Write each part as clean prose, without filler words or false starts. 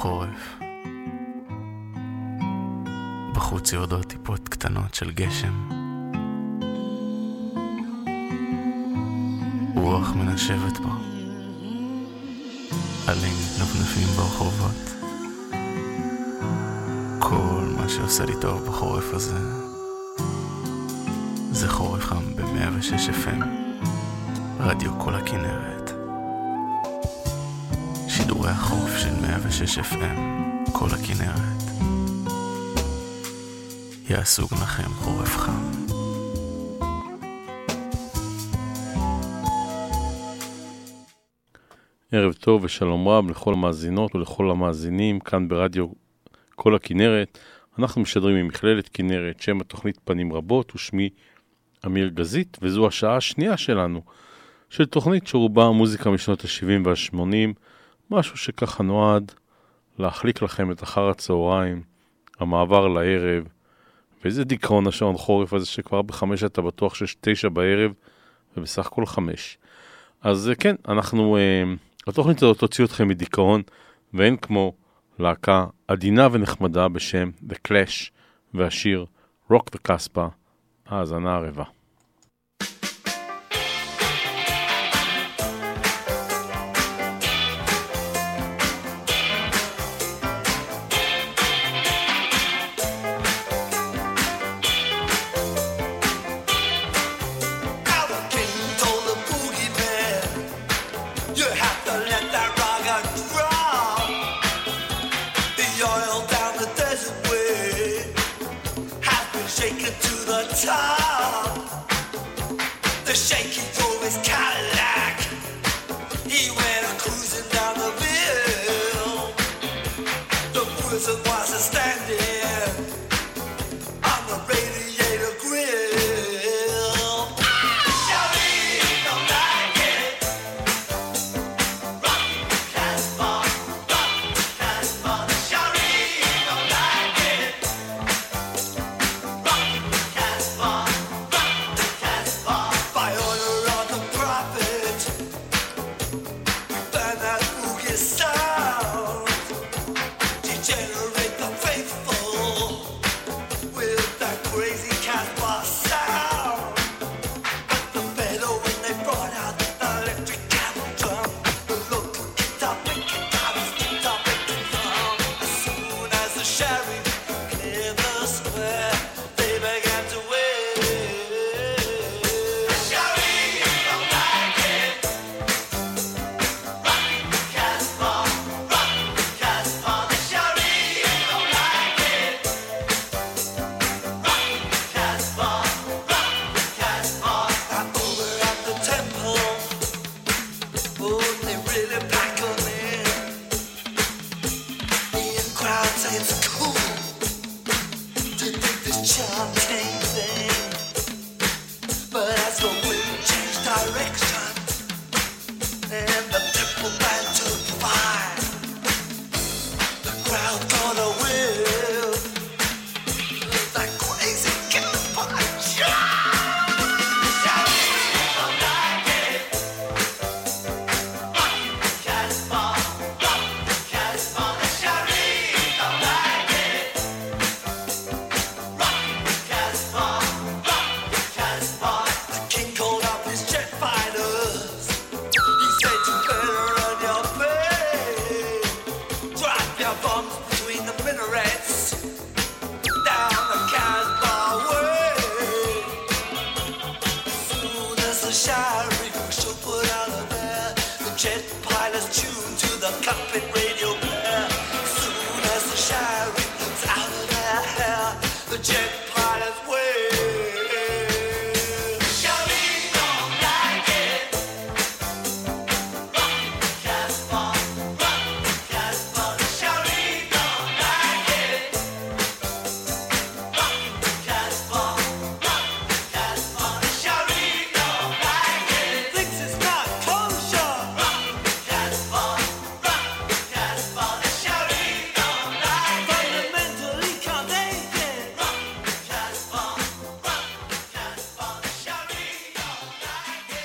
חורף. בחוץ יורדות טיפות קטנות של גשם. רוח מנשבת בו. עלים נפנפים ברחובות. כל מה שעושה לי טוב בחורף הזה זה חורף חם ב-106 FM, רדיו כל הכנרת. שידורי החורף של 106 FM, כל הכנרת, יעשו לכם חורף חם. ערב טוב ושלום רב לכל המאזינות ולכל המאזינים כאן ברדיו כל הכנרת. אנחנו משדרים ממכללת כנרת, שם התוכנית פנים רבות, ושמי אמיר גזית, וזו השעה השנייה שלנו, של תוכנית שרובה מוזיקה משנות ה-70 וה-80, משהו שככה נועד להחליק לכם את אחר הצהריים, המעבר לערב, ואיזה דיכאון השעון חורף הזה שכבר ב5 אתה בטוח שיש 9 בערב, ובסך הכל 5. אז כן, התוכנית הזאת תוציא אתכם מדיכאון, ואין כמו להקה עדינה ונחמדה בשם The Clash, והשיר Rock the Casbah, האזנה ערבה.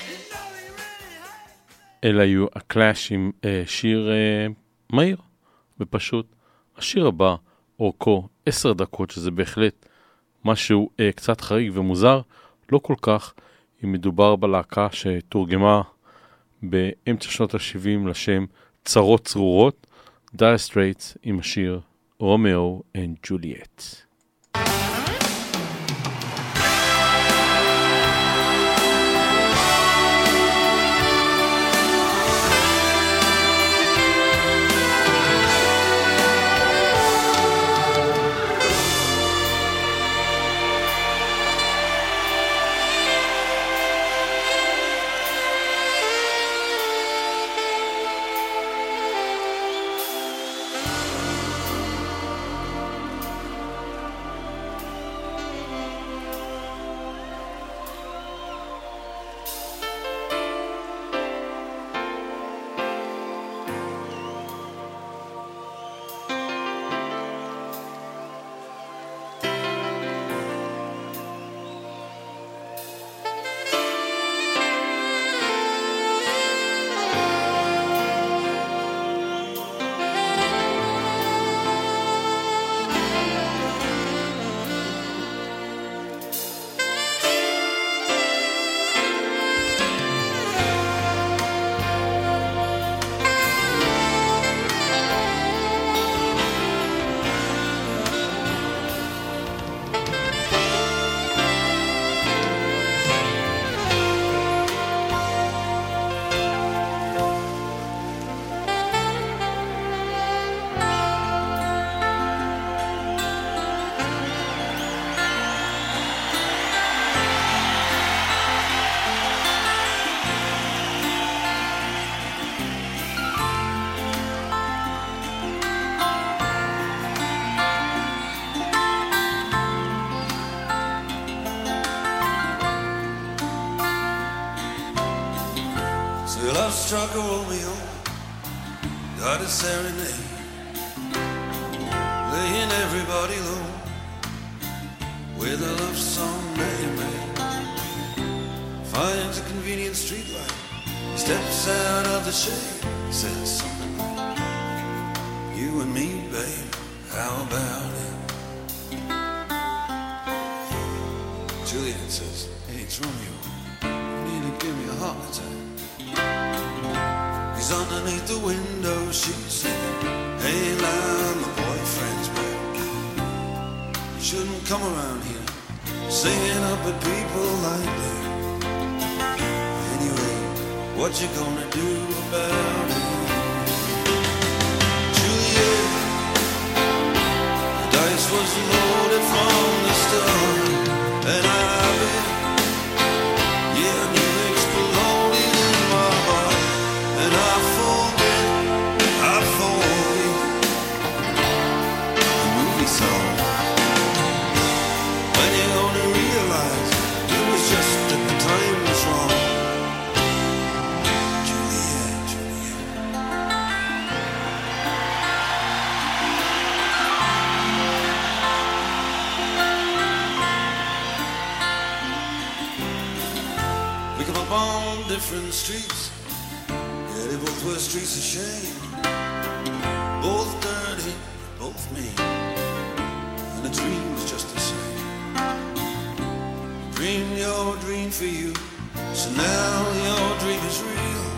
אלה היו הקלאש עם שיר מהיר, ופשוט. השיר הבא, אורכו 10 דקות, שזה בהחלט משהו קצת חריג ומוזר, לא כל כך, אם מדובר בלהקה שתורגמה באמצע שנות ה-70 לשם צרות צרורות, Dire Straits עם השיר רומאו and Juliet. Struck a Romeo, got a serenade, laying everybody low with a love song they made. Finds a convenient streetlight, steps out of the shade, says something like, "You and me, babe, how about it?" Juliet says, "Hey, it's Romeo, you need to give me a heart attack." He's underneath the window, she's singing, "Hey, now my boyfriend's back. You shouldn't come around here, singing up at people like that. Anyway, what you gonna do about it?" Juliet, the dice was loaded from the start, and I bet, yeah, I knew exploding in my heart. And I forget the movie song. When you're gonna realize it was just that the time was wrong. Juliet, Juliet. We come up on different streets. They both were streets of shame, both dirty, both mean, and the dream was just the same. Dream your dream for you, so now your dream is real.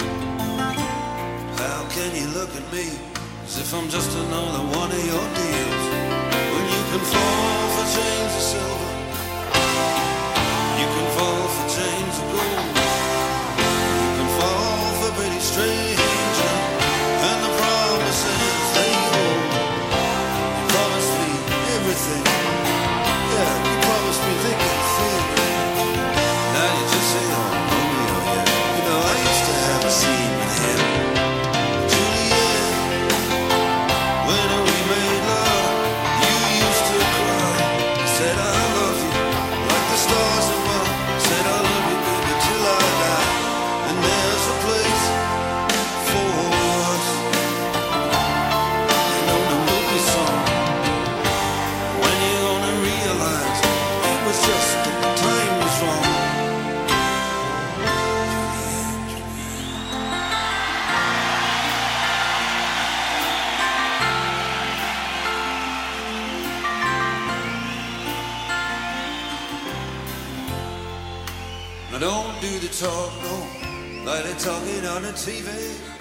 How can you look at me as if I'm just another one of your deals? When you can fall for chains of silver, you can fall for chains of gold, you can fall for pretty stranger, and the promises they hold. You promised me everything, yeah, you promised me thick and thin. Now you just say, "Oh, Romeo, yeah, you know I used to have a scene with him." Juliet, when we made love, you used to cry, said I love you, like the stars above, said I love you, baby, till I I don't do the talk, no, like they're talking on the TV.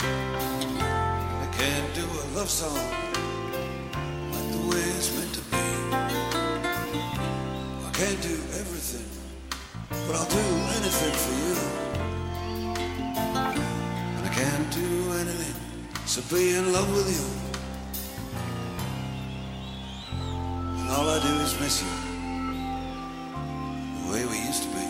I can't do a love song like the way it's meant to be. I can't do everything, but I'll do anything for you. And I can't do anything, so be in love with you. And all I do is miss you, the way we used to be.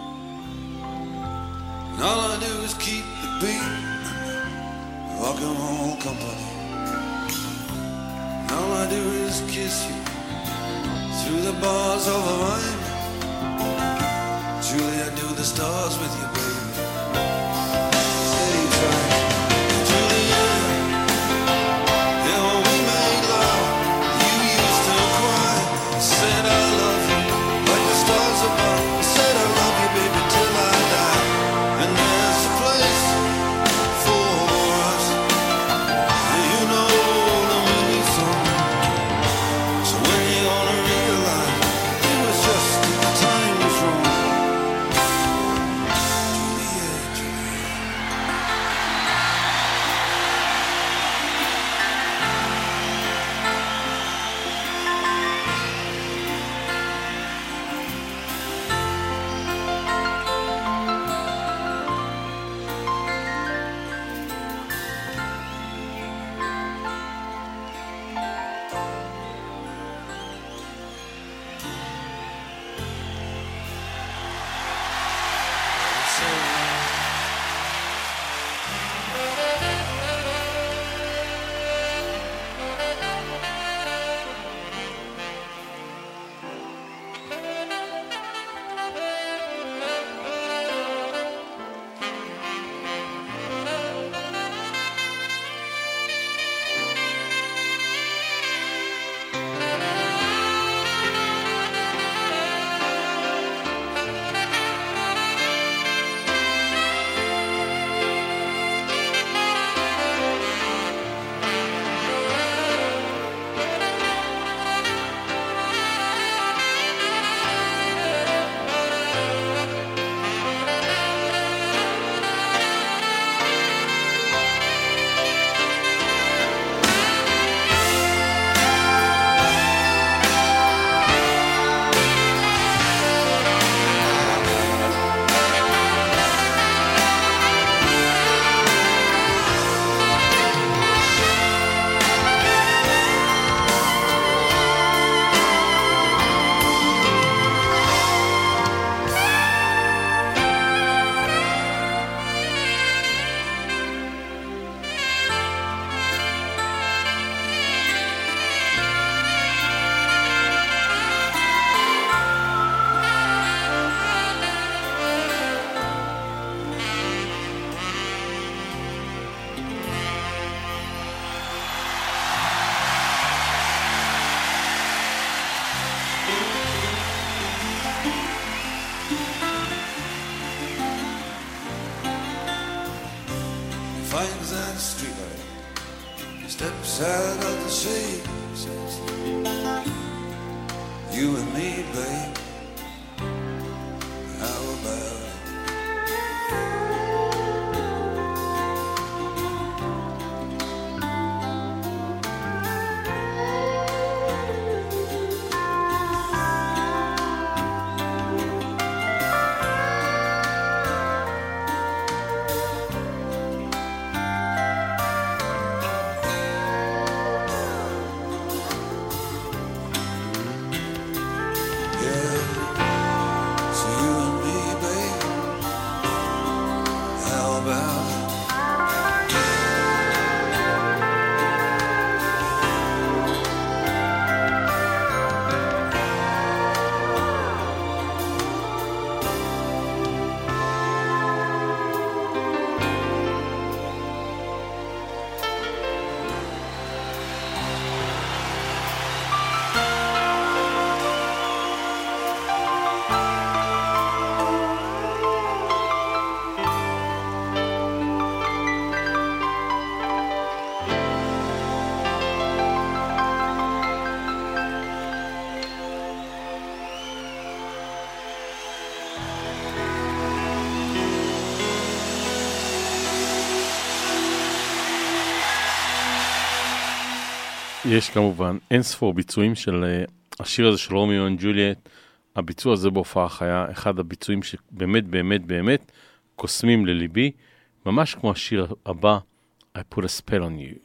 And all I do is keep the beat, rock and roll company. And all I do is kiss you through the bars of a rhyme. Julie, I do the stars with you, baby. Steady trying. Julia, yeah, when we made love, you used to cry. Said I love you like the stars above. Said I love you, baby, till I die. And there's a place for us. You know the meaning song. So when you gonna realize it was just the time was wrong? Juliet, Juliet. Finds that streetlight, steps out of the shade, says, you and me, babe, how about it? Yeah. יש כמובן אין ספור ביצועים של השיר הזה של רומיו אנד ג'וליאט. הביצוע הזה בהופעה חיה, אחד הביצועים שבאמת באמת באמת קוסמים לליבי, ממש כמו השיר הבא, I put a spell on you.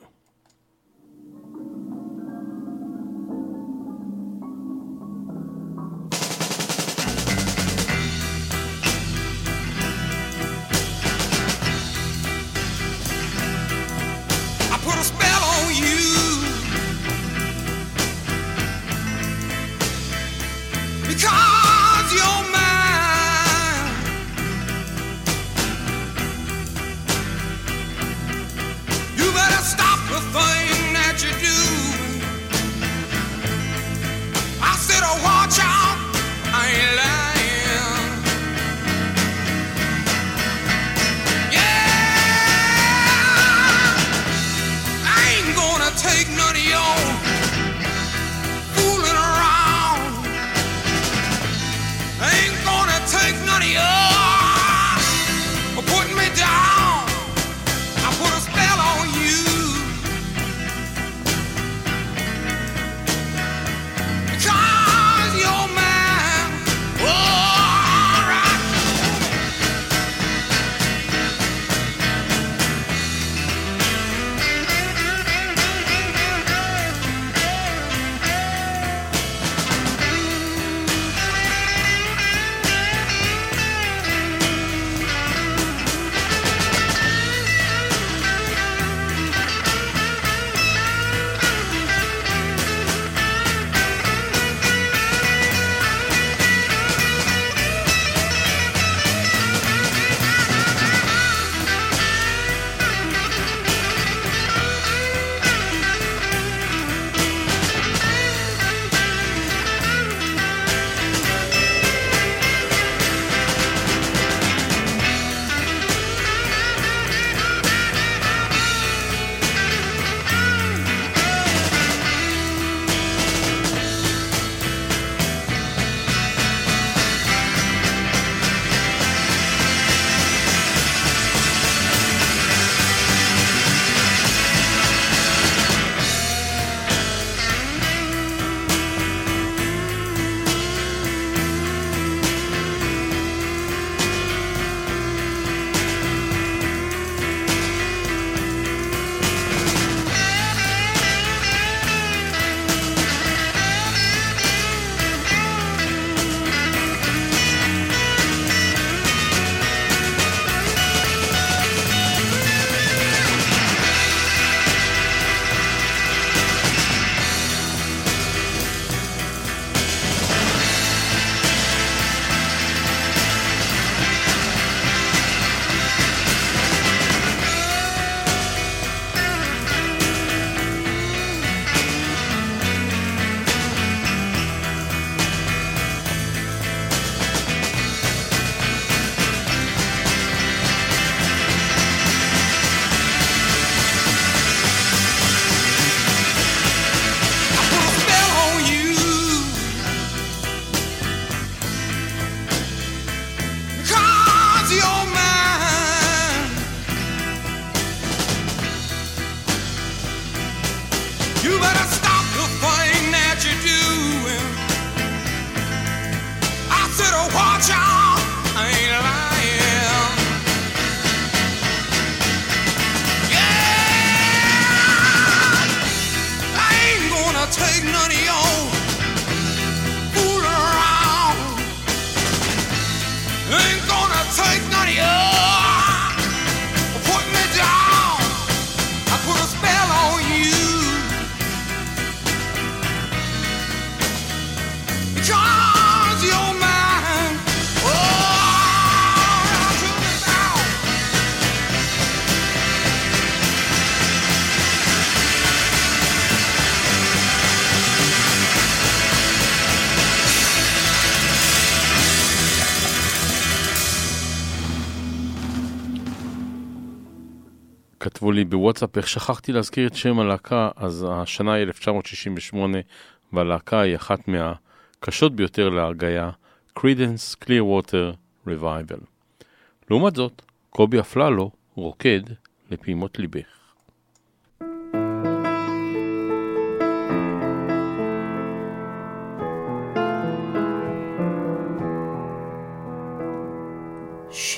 כתבו לי בוואטסאפ איך שכחתי להזכיר את שם הלהקה, אז השנה היא 1968 והלהקה היא אחת מהקשות ביותר להרגיה, Creedence Clearwater Revival. לעומת זאת, קובי אפללו רוקד לפעימות ליבך.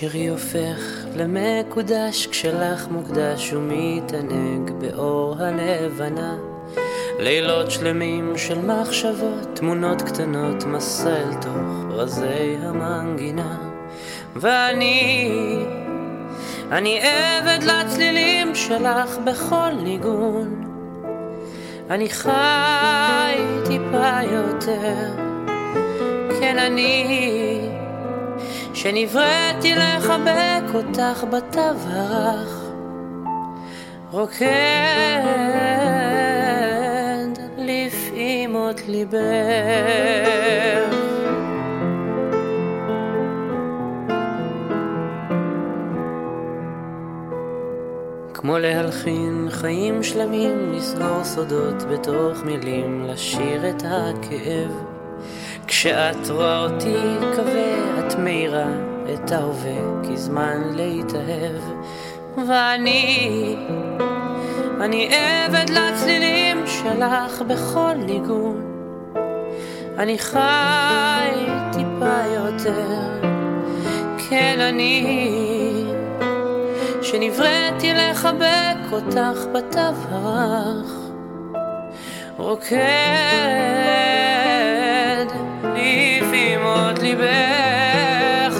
שירי הופך למקודש כשלך מוקדש ומתענג באור הלבנה. לילות שלמים של מחשבות, תמונות קטנות, מסע אל תוך רזי המנגינה. ואני עבד לצלילים שלך בכל ניגון. אני חי טיפה יותר, כן אני שנבראתי לחבק אותך בתו הרך, רוקד לפעימות ליבך. כמו להלחין חיים שלמים, לסגור סודות בתוך מילים, לשיר את הכאב. כשאת רואה אותי קווה, את מאירה את ההווה, כי זמן להתאהב. ואני עבד לצלילים שלך בכל ניגון. אני חי טיפה יותר, כן אני שנבראתי לחבק אותך בתו הרך, רוקד לפעימות ליבך.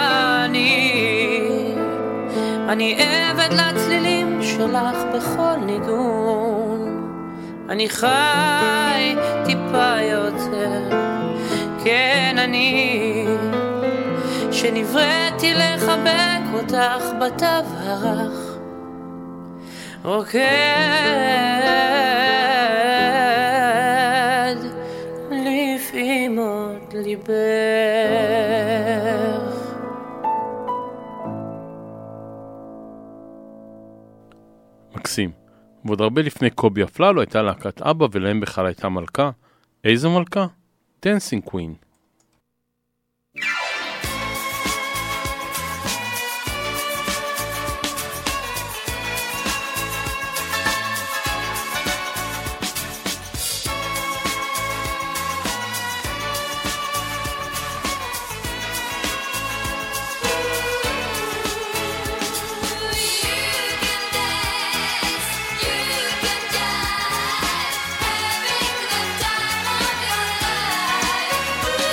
ואני עבד לצלילים שלך בכל ניגון. אני חי טיפה יותר, כן אני שנבראתי לחבק אותך בתו הרך, רוקד לפעימות ליבך. מקסים. ועוד הרבה לפני קובי אפללו הייתה להקת אבא, ולהם בכלל הייתה מלכה. איזו מלכה? דנסינג קווין. We'll be right back.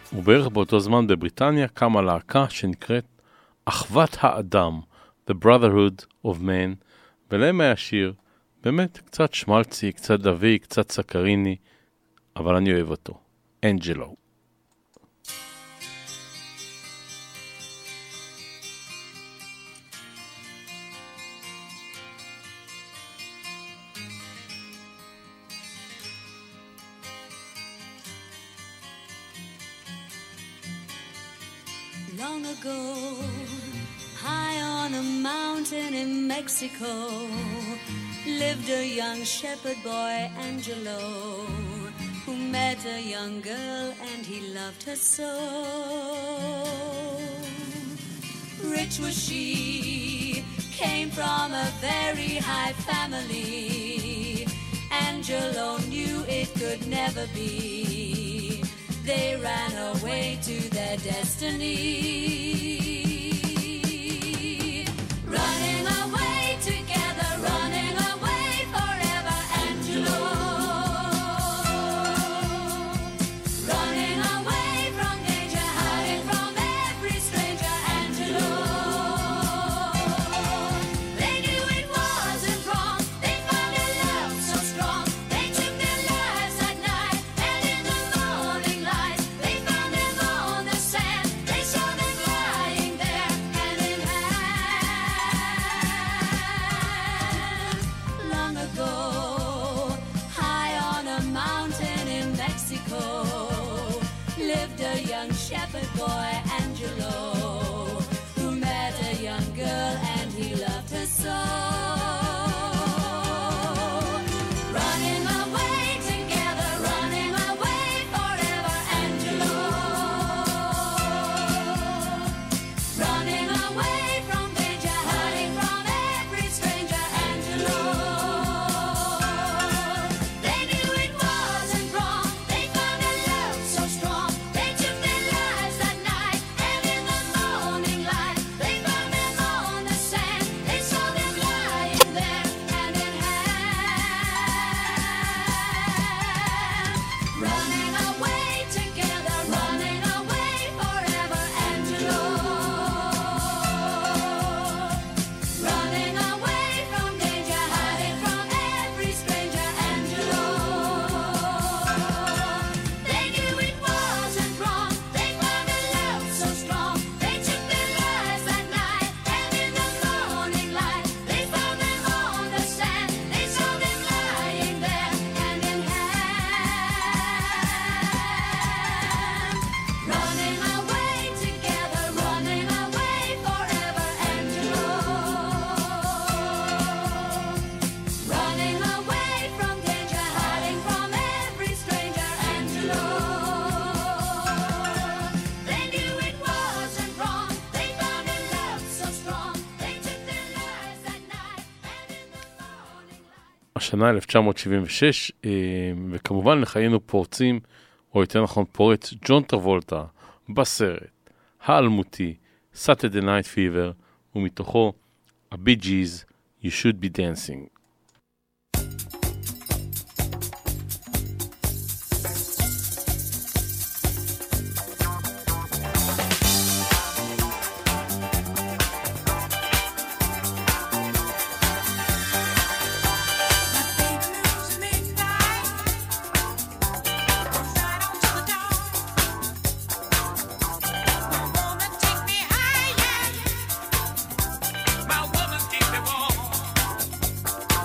ובערך באותו זמן בבריטניה קמה להקה שנקראת אחוות האדם, The Brotherhood of Man, ולהם היה שיר באמת קצת שמלצי, קצת דווי, קצת סקריני, אבל אני אוהב אותו, אנג'לו. Long ago, high on a mountain in Mexico, lived a young shepherd boy, Angelo, who met a young girl and he loved her so. Rich was she, came from a very high family. Angelo knew it could never be. They ran away to their destiny. Running away together, running away forever, Angelo. Running away from danger, hiding from every stranger, Angelo. They knew it wasn't wrong, they found a love so strong. They took their lives at night, and in the morning light, they found them on the sand. They saw them lying there, hand in hand. Long ago, high on a mountain in Mexico, lived a young shepherd boy, Angelo, who met a young girl and he loved her so. Running away together, running away forever, Angelo. Running away from danger, hiding from every stranger, Angelo. They knew it wasn't wrong, they found a love so strong. They took their lives that night, and in the morning light, they found them on the sand. They saw them lying there, hand in hand. Running away together, running away forever, Angelo. Running away from danger, hiding from every stranger, Angelo. They knew it wasn't wrong, they found a love so strong. They took their lives that night, and in the morning light, they found them on the sand. They saw them lying there, hand in hand. Running away together, running away forever, Angelo. Running away from danger, hiding from every stranger, Angelo. They knew it wasn't wrong, they found a love so strong. They took their lives that night, and in the morning light. השנה 1976, וכמובן לחיינו פורצים, או יותר נכון פורץ, ג'ון טרבולטה, בסרט, האלמותי, Saturday Night Fever, ומתוכו, הבי ג'יז, You Should Be Dancing. My woman keep me warm.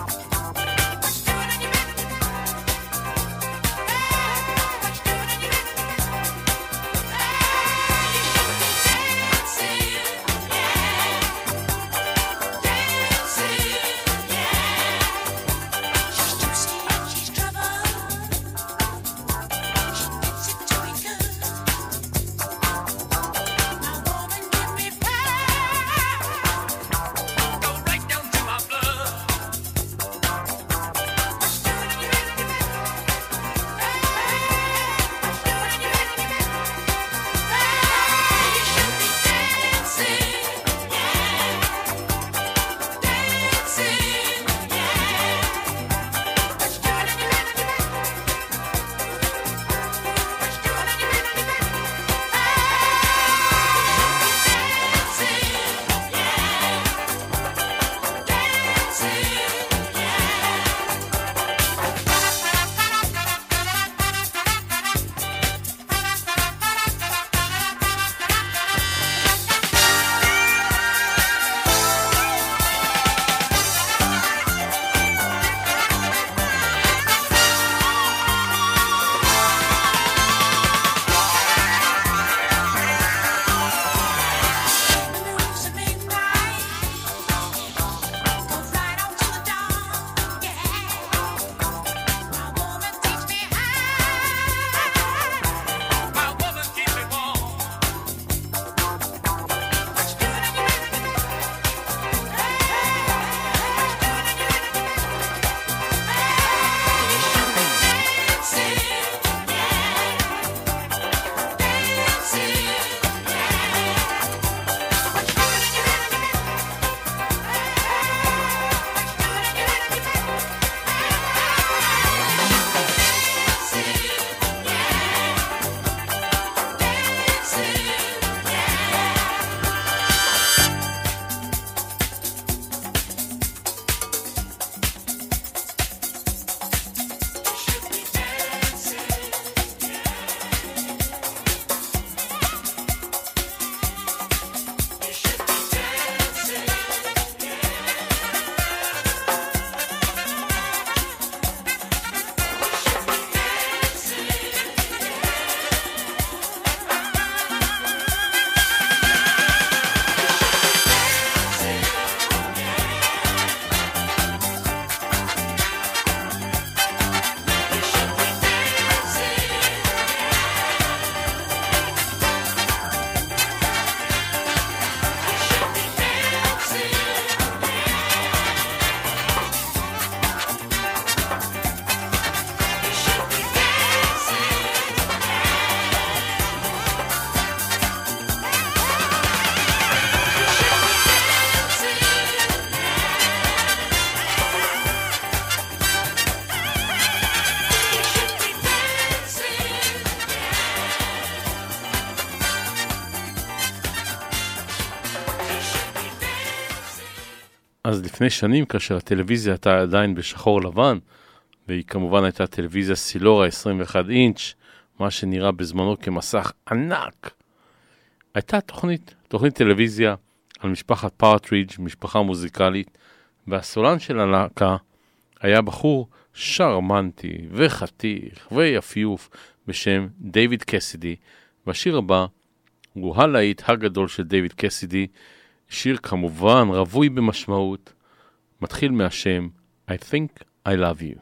אז לפני שנים, כאשר הטלוויזיה הייתה עדיין בשחור לבן, והיא כמובן הייתה טלוויזיה סילורה 21 אינץ', מה שנראה בזמנו כמסך ענק, הייתה תוכנית טלוויזיה על משפחת פרטרידג', משפחה מוזיקלית, והסולן של הלהקה היה בחור שרמנטי וחתיך ויפיוף בשם דיוויד קסידי, והשיר הבא הוא הלהיט הגדול של דיוויד קסידי, שיר כמובן רווי במשמעות, מתחיל מהשם I think I love you.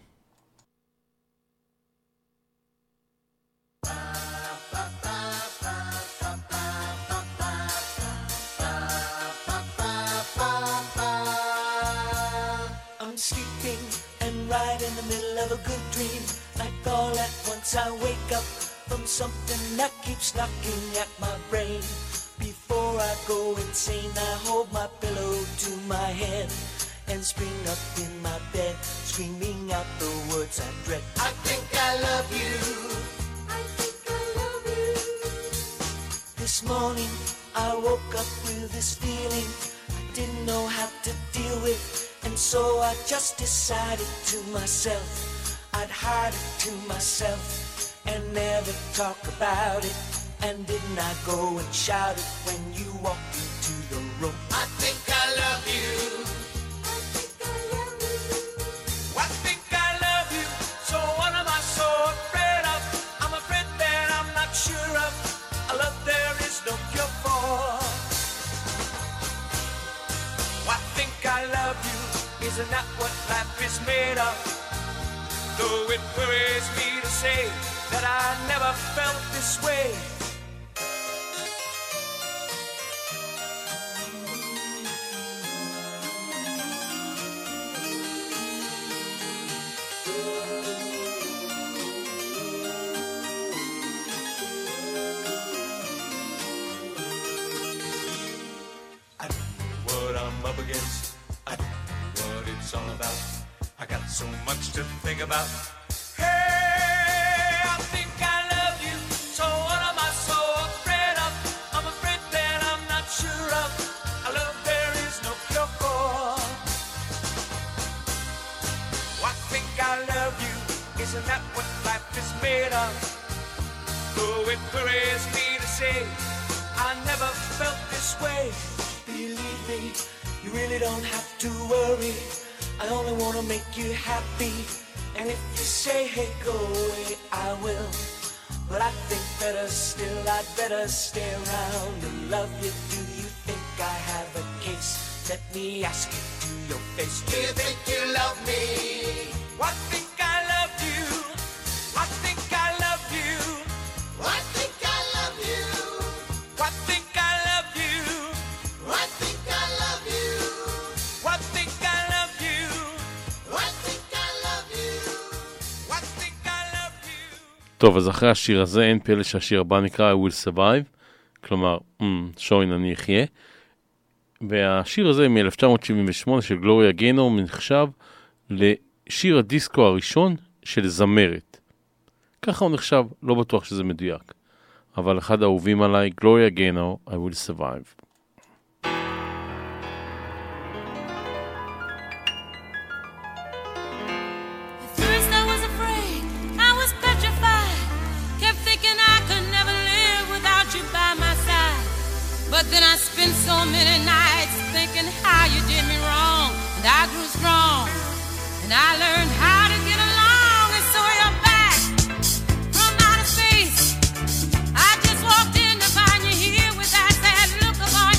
I'm sleeping and right in the middle of a good dream, like all at once I wake up from something that keeps knocking at my brain. Before I go insane, I hold my pillow to my head and spring up in my bed, screaming out the words I dread. I think I love you. I think I love you. This morning I woke up with this feeling I didn't know how to deal with, and so I just decided to myself I'd hide it to myself and never talk about it. And didn't I go and shout it when you walked into the room? I think I love you. I think I love you. I think I love you. So what am I so afraid of? I'm afraid that I'm not sure of a love there is no cure for. I think I love you. Isn't that what life is made of? Though it worries me to say that I never felt this way. I know what I'm up against. I know what it's all about. I got so much to think about. Hey, I think I love you. So what am I so afraid of? I'm afraid that I'm not sure of a love there is no cure for. I think I love you. Isn't that what life is made of? Though it worries me to say I never felt this way. Believe me, you really don't have to worry. I only want to make you happy. And if you say, hey, go away, I will. But I think better still, I'd better stay around and love you. Do you think I have a case? Let me ask you to your face. Do you think you love me? I think I love you. I think I love you. I think I love you. I think I love you. I think I love you. I think I love you. I think I love you. I think I love you. טוב, אז אחרי השיר הזה אין פלא שהשיר הבא נקרא I will survive, כלומר, שוין אני אחיה. והשיר הזה מ-1978 של גלוריה גיינור נחשב לשיר הדיסקו הראשון של זמרת. ככה הוא נחשב, לא בטוח שזה מדויק. אבל אחד האהובים עליי, גלוריה גיינור, I will survive. But then I spent so many nights thinking how you did me wrong, and I grew strong, and I learned how to get along, and so you're back from outer space. I just walked in to find you here with that sad look upon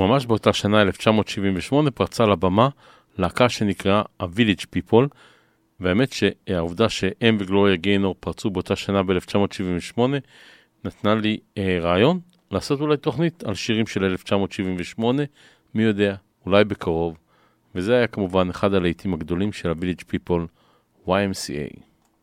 וממש באותה שנה, 1978, פרצה לבמה להקה שנקרא ה-Village People, והאמת שהעובדה שהם וגלוריה גיינור פרצו באותה שנה ב-1978, נתנה לי רעיון לעשות אולי תוכנית על שירים של 1978, מי יודע, אולי בקרוב, וזה היה כמובן אחד הלהיטים הגדולים של ה-Village People, YMCA.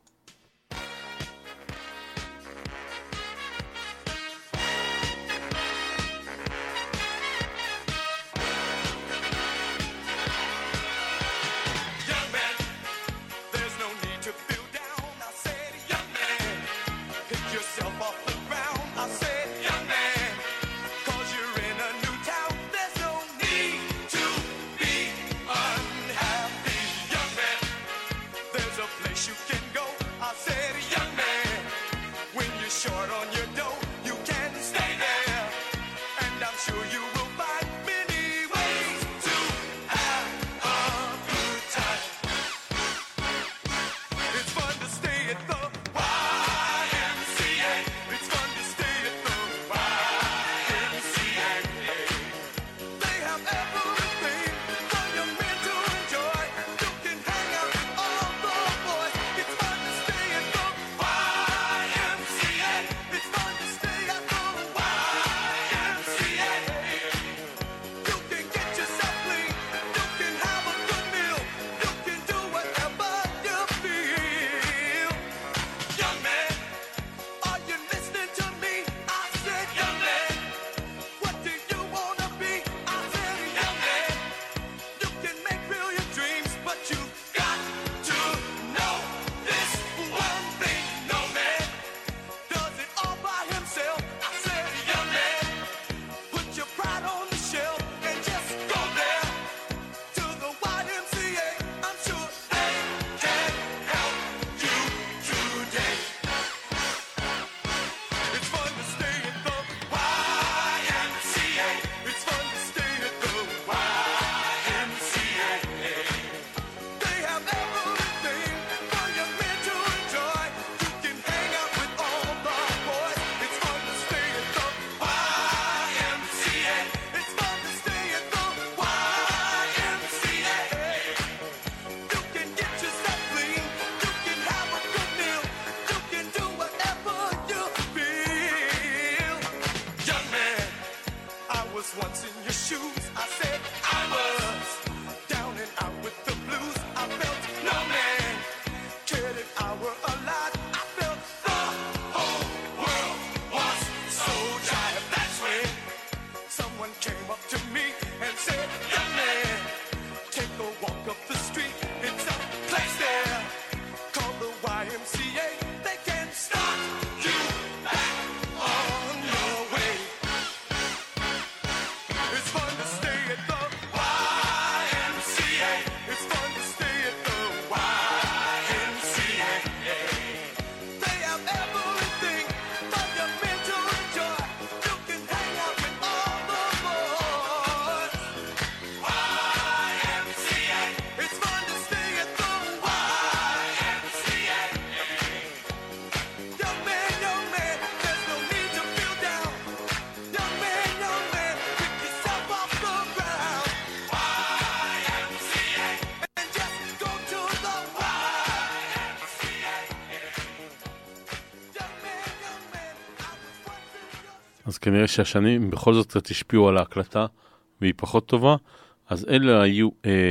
אז כנראה שהשנים בכל זאת קצת השפיעו על ההקלטה והיא פחות טובה, אז אלה היו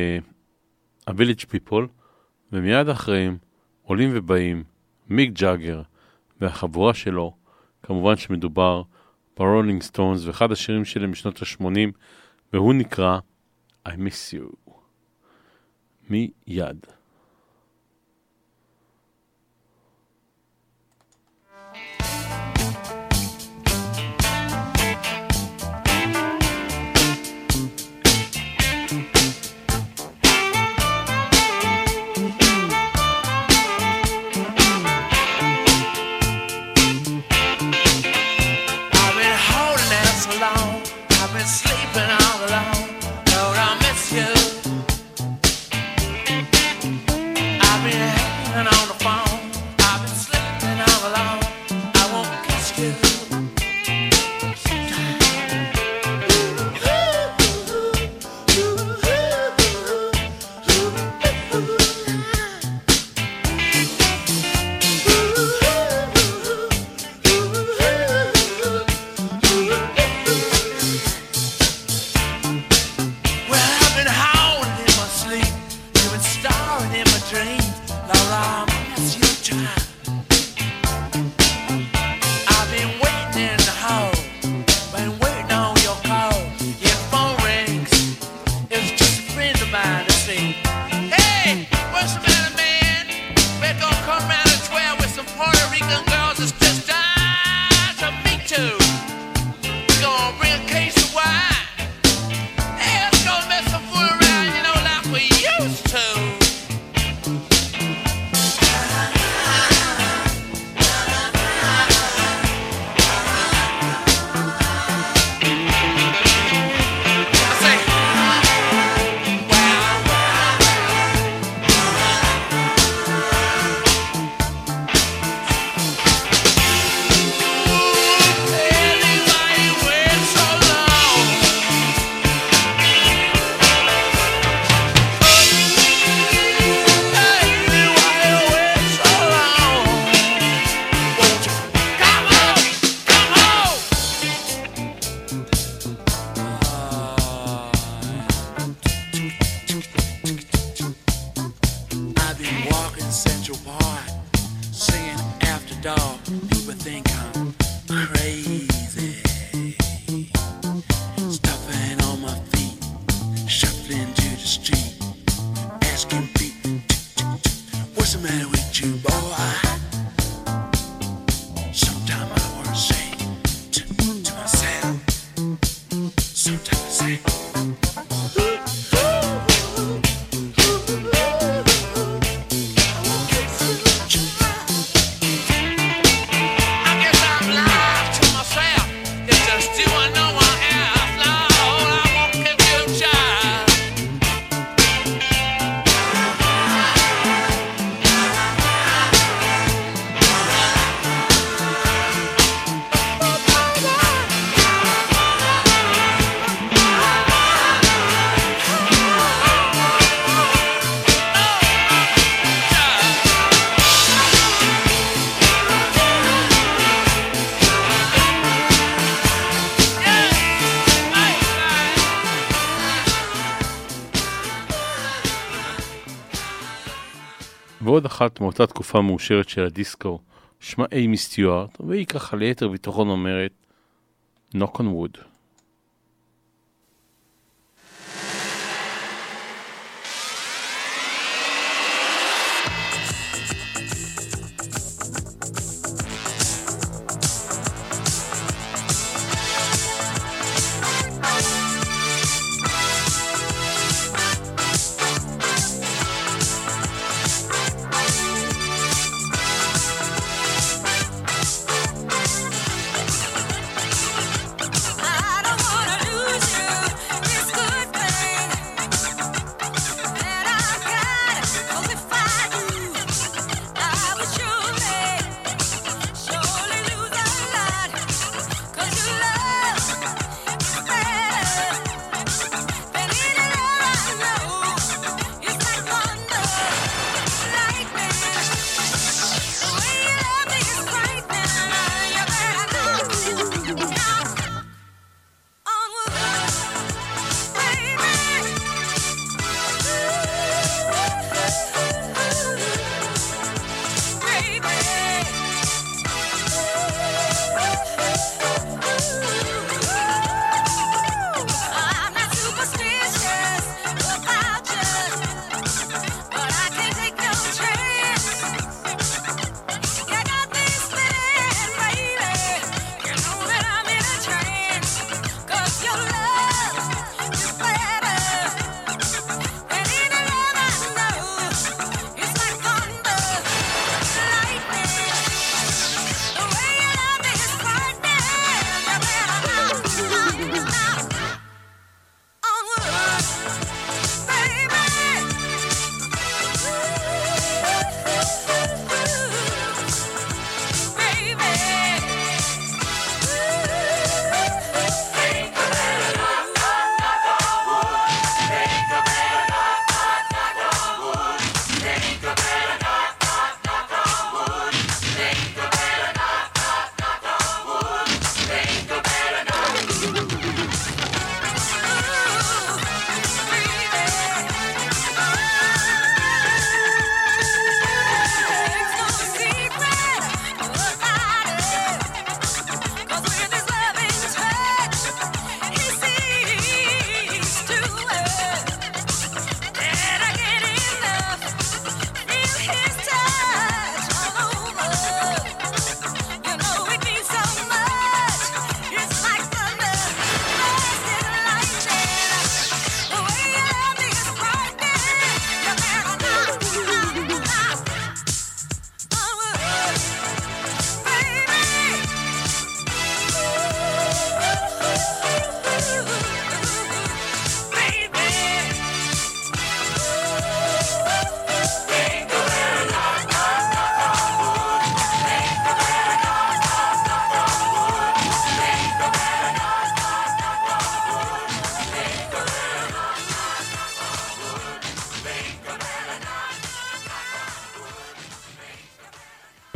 ה-Village People, ומיד אחריהם עולים ובאים מיק ג'אגר והחבורה שלו, כמובן שמדובר ברולינג סטונס, ואחד השירים שלהם משנות ה-80, והוא נקרא I Miss You. מיד. Sleeping all alone, Lord, I miss you. say, hey, what's the matter, man? We're gonna come around at 12 with some Puerto Rican girls that's just time to meet too. We're gonna bring a case of wine. Hey, let's go mess some food around, you know, like we used to. ועוד אחת מאותה תקופה מאושרת של הדיסקו, שמה אימי סטיוארט, והיא ככה ליתר ביטחון אומרת Knock on Wood. I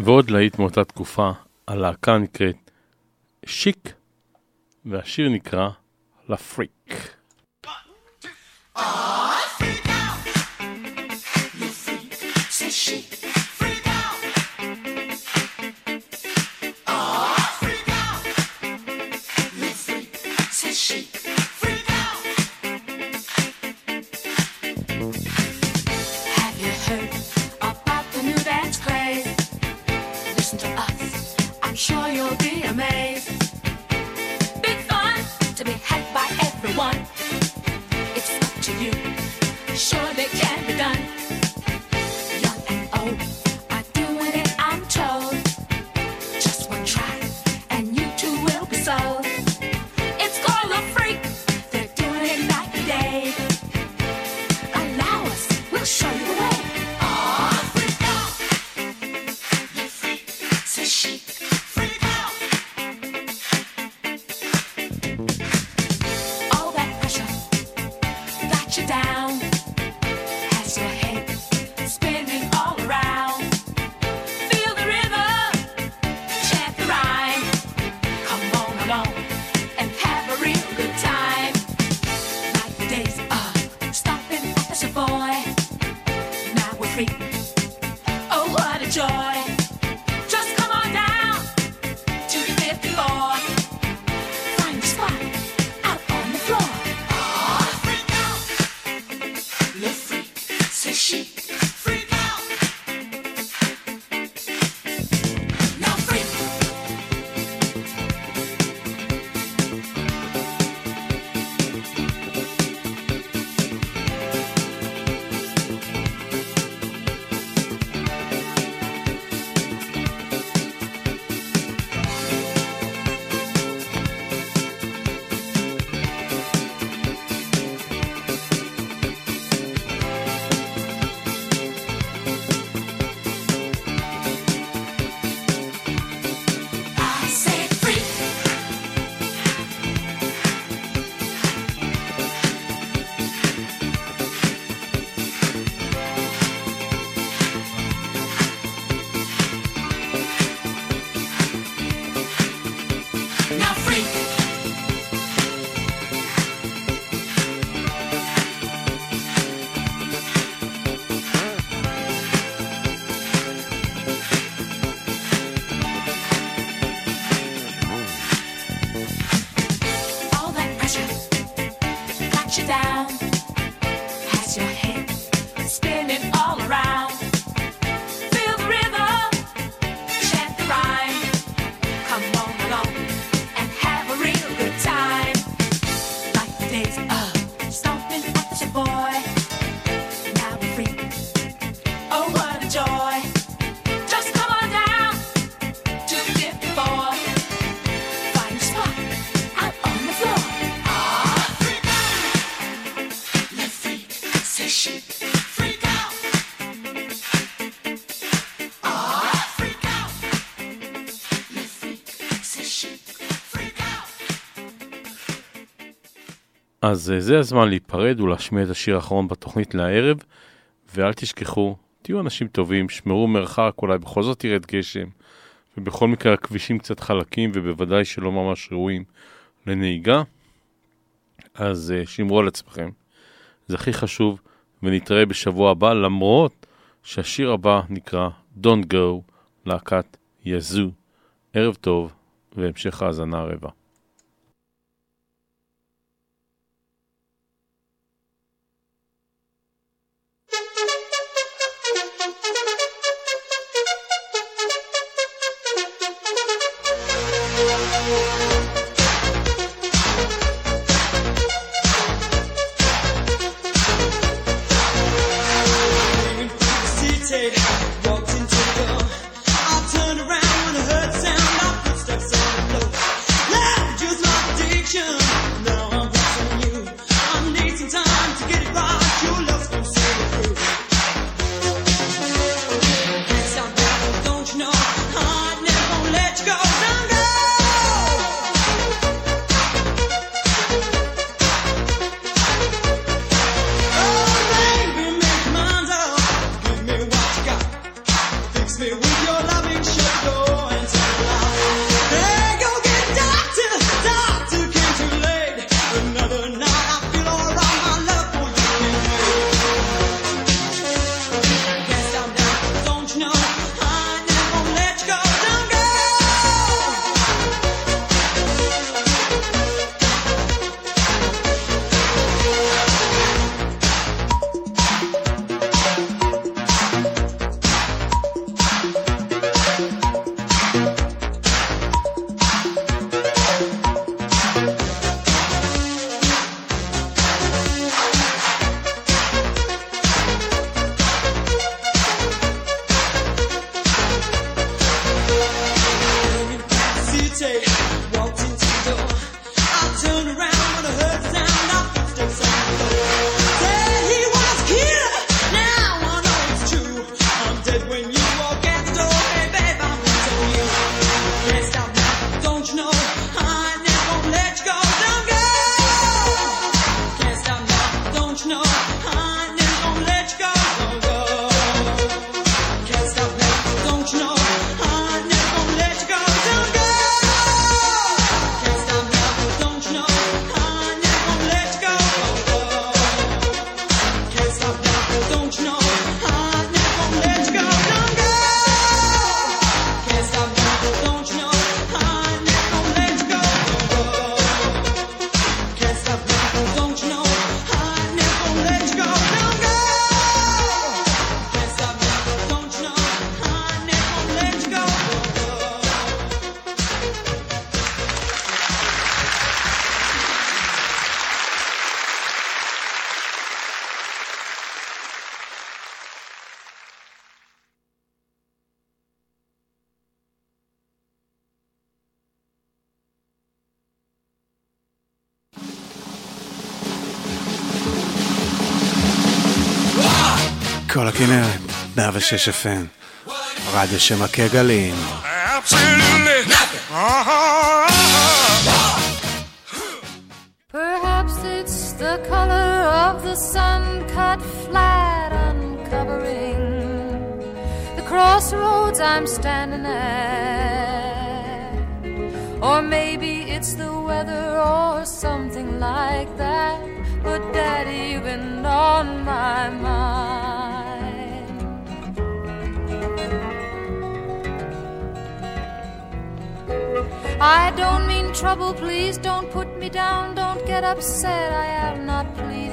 ועוד להיט מאותה תקופה, הלהקה נקראת שיק, והשיר נקרא לפריק. Sure you'll be amazed. Big fun to be had by everyone. It's up to you. Sure they can be done. Young and old are doing it, I'm told. Just one try and you too will be sold. It's called a freak. They're doing it night and day. Allow us, we'll show you the way. Oh, freak out. You freak, says she. Down as your head spinning all around. Feel the rhythm, chant the rhyme. Come on along and have a real good time. Like the days of stopping at the Savoy. Now we're free. Oh, what a joy! Just come on down to the 5th floor. Find a spot out on the floor. She freak out. Now freak. Down has your head spinning all around. Feel the rhythm, chant the rhyme. Come on along and have a real good time. Like the days of stomping at the Savoy. Now we're free. Oh, what a joy! Just come on down to the 5th floor. Find a spot out on the floor. She freak out. Oh, freak out. You freak, say she freak out. אז זה הזמן להיפרד ולהשמיע את השיר האחרון בתוכנית לערב, ואל תשכחו, תהיו אנשים טובים, שמרו מרחק, אולי בכל זאת ירד גשם, ובכל מקרה הכבישים קצת חלקים ובוודאי שלא ממש ראויים לנהיגה, אז שמרו על עצמכם, זה הכי חשוב. ונתראה בשבוע הבא, למרות שהשיר הבא נקרא Don't Go, להקת יזו. ערב טוב והמשך האזנה הרבה. Walked into the door. I turned around when I heard sound. Our footsteps on the floor. כל הכנרת, 106 FM, רדיו שמכה גלים. Perhaps it's the color of the sun cut flat, uncovering the crossroads I'm standing at. Or maybe it's the weather or something like that. But Daddy, you've been on my mind. I don't mean trouble, please don't put me down, don't get upset, I am not pleading.